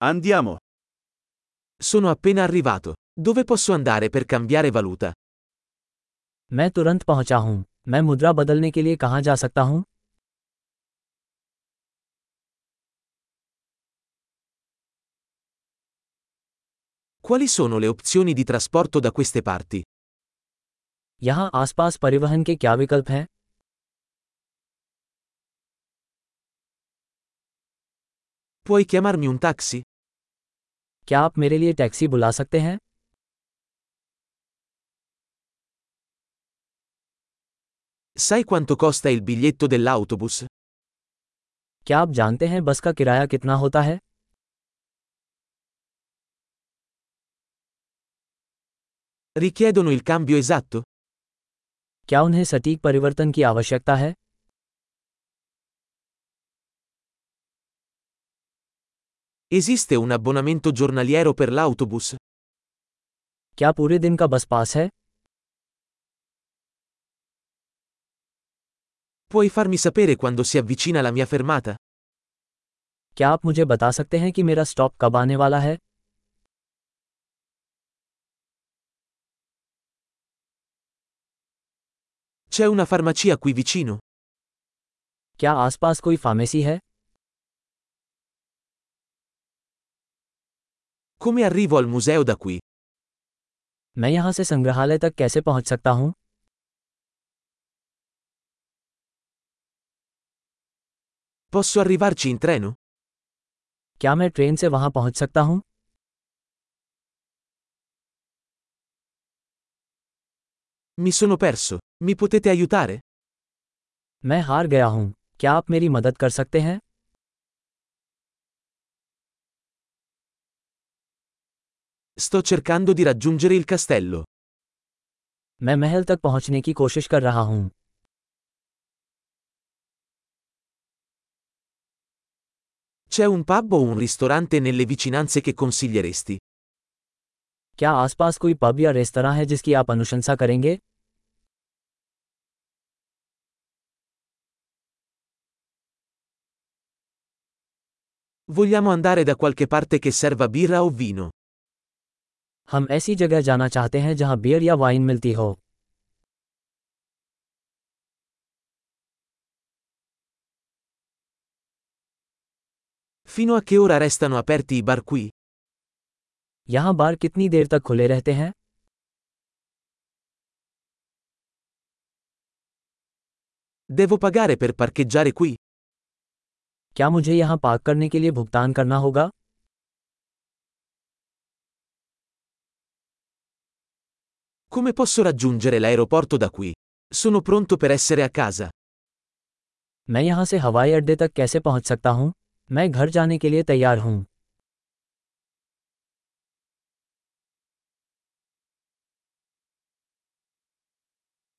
Andiamo. Sono appena arrivato. Dove posso andare per cambiare valuta? मैं तुरंत पहुंचा हूं। मैं मुद्रा बदलने के लिए कहां जा सकता हूं? Quali sono le opzioni di trasporto da queste parti? यहां आसपास परिवहन के क्या विकल्प हैं? Puoi chiamarmi un taxi? क्या आप मेरे लिए टैक्सी बुला सकते हैं? Sai quanto costa il biglietto dell'autobus? क्या आप जानते हैं बस का किराया कितना होता है? Richiedono il cambio esatto? क्या उन्हें सटीक परिवर्तन की आवश्यकता है? Esiste un abbonamento giornaliero per l'autobus? क्या पूरे दिन का बस पास है? Puoi farmi sapere quando si avvicina la mia fermata? क्या आप मुझे बता सकते हैं कि मेरा स्टॉप कब आने वाला है? C'è una farmacia qui vicino? क्या आसपास कोई फार्मेसी है? Come arrivo al museo da qui? मैं यहां से संग्रहालय तक कैसे पहुंच सकता हूं? Posso arrivarci in treno? क्या मैं ट्रेन से वहां पहुंच सकता हूं? Mi sono perso. Mi potete aiutare? मैं हार गया हूं। क्या आप मेरी मदद कर सकते हैं? Sto cercando di raggiungere il castello. मैं महल तक पहुंचने की कोशिश कर रहा हूं। C'è un pub o un ristorante nelle vicinanze che consiglieresti? क्या आसपास कोई पब या रेस्तरां है जिसकी आप अनुशंसा करेंगे? Vogliamo andare da qualche parte che serva birra o vino. हम ऐसी जगह जाना चाहते हैं जहां बियर या वाइन मिलती हो। Fino a che ora restano aperti i bar qui? यहां बार कितनी देर तक खुले रहते हैं? Devo pagare per parcheggiare qui? क्या मुझे यहां पार्क करने के लिए भुगतान करना होगा? Come posso raggiungere l'aeroporto da qui? Sono pronto per essere a casa. मैं यहां से हवाई अड्डे तक कैसे पहुंच सकता हूं? मैं घर जाने के लिए तैयार हूं।